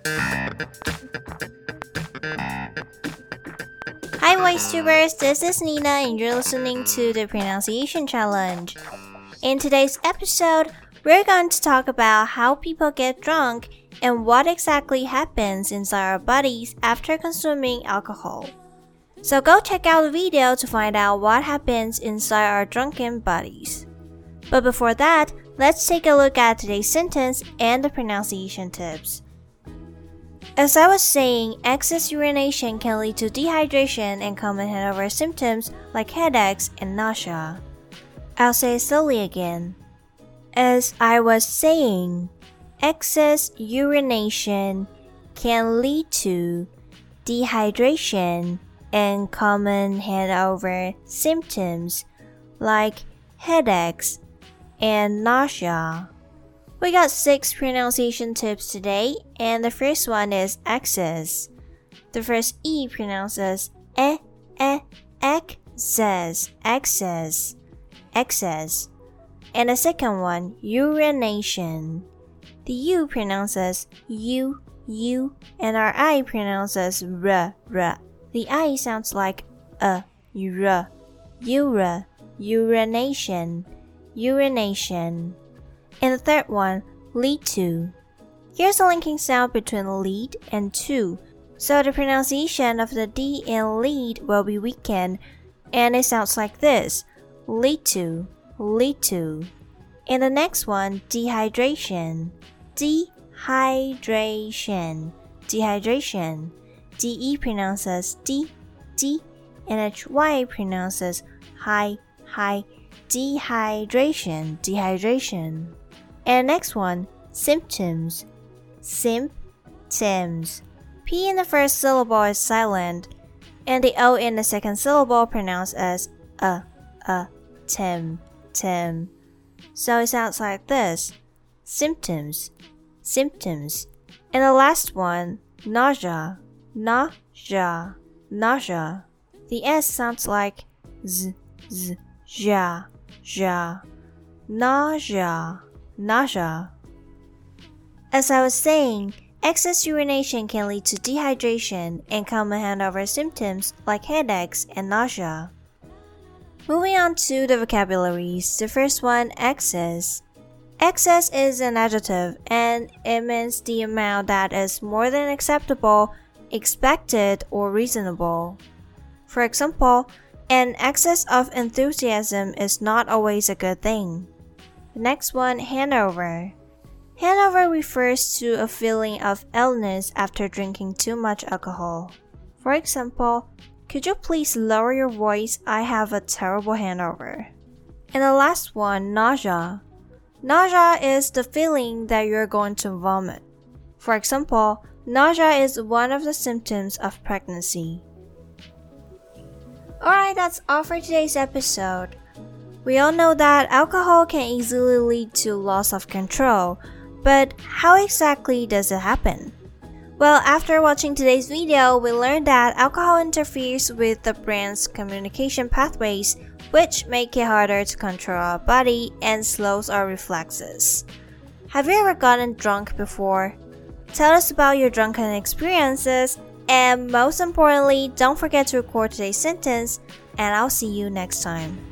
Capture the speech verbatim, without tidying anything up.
Hi VoiceTubers, this is Nina and you're listening to the Pronunciation Challenge. In today's episode, we're going to talk about how people get drunk and what exactly happens inside our bodies after consuming alcohol. So go check out the video to find out what happens inside our drunken bodies. But before that, let's take a look at today's sentence and the pronunciation tips. As I was saying, excess urination can lead to dehydration and common hangover symptoms like headaches and nausea. I'll say it slowly again. As I was saying, excess urination can lead to dehydration and common hangover symptoms like headaches and nausea. We got six pronunciation tips today, and the first one is excess. The first E pronounces e, e, excess, excess, excess. And the second one, urination. The U pronounces U, U, and our I pronounces R, R. The I sounds like a, ura, ura, urination, urination. And the third one, lead to. Here's a linking sound between lead and to, so the pronunciation of the D in lead will be weakened, and it sounds like this, lead to, lead to. And the next one, dehydration, dehydration, dehydration. D E pronounces D, D, and H Y pronounces hi, hi, dehydration, dehydration. And next one, symptoms, symptoms. P in the first syllable is silent, and the O in the second syllable pronounced as a, a, tim, tim. So it sounds like this, symptoms, symptoms. And the last one, nausea, nausea, nausea. The S sounds like z, z, ja, ja, nausea, nausea. As I was saying, excess urination can lead to dehydration and common hangover symptoms like headaches and nausea. Moving on to the vocabularies, the first one, excess. Excess is an adjective and it means the amount that is more than acceptable, expected, or reasonable. For example, an excess of enthusiasm is not always a good thing. The next one, hangover. Hangover refers to a feeling of illness after drinking too much alcohol. For example, could you please lower your voice? I have a terrible hangover. And the last one, nausea. Nausea is the feeling that you're going to vomit. For example, nausea is one of the symptoms of pregnancy. Alright, that's all for today's episode. We all know that alcohol can easily lead to loss of control, but how exactly does it happen? Well, after watching today's video, we learned that alcohol interferes with the brain's communication pathways, which make it harder to control our body and slows our reflexes. Have you ever gotten drunk before? Tell us about your drunken experiences, and most importantly, don't forget to record today's sentence, and I'll see you next time.